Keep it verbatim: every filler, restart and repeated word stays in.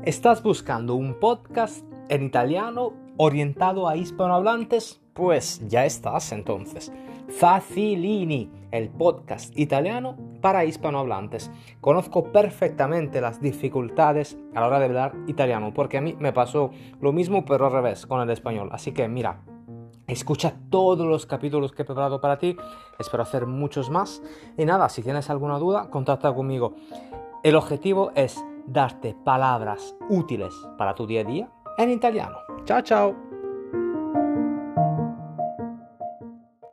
¿Estás buscando un podcast en italiano orientado a hispanohablantes? Pues ya estás entonces. Facilini, el podcast italiano para hispanohablantes. Conozco perfectamente las dificultades a la hora de hablar italiano, porque a mí me pasó lo mismo pero al revés con el español. Así que mira, escucha todos los capítulos que he preparado para ti. Espero hacer muchos más. Y nada, si tienes alguna duda, contacta conmigo. El objetivo es darte palabras útiles para tu día a día en italiano. Chao, chao.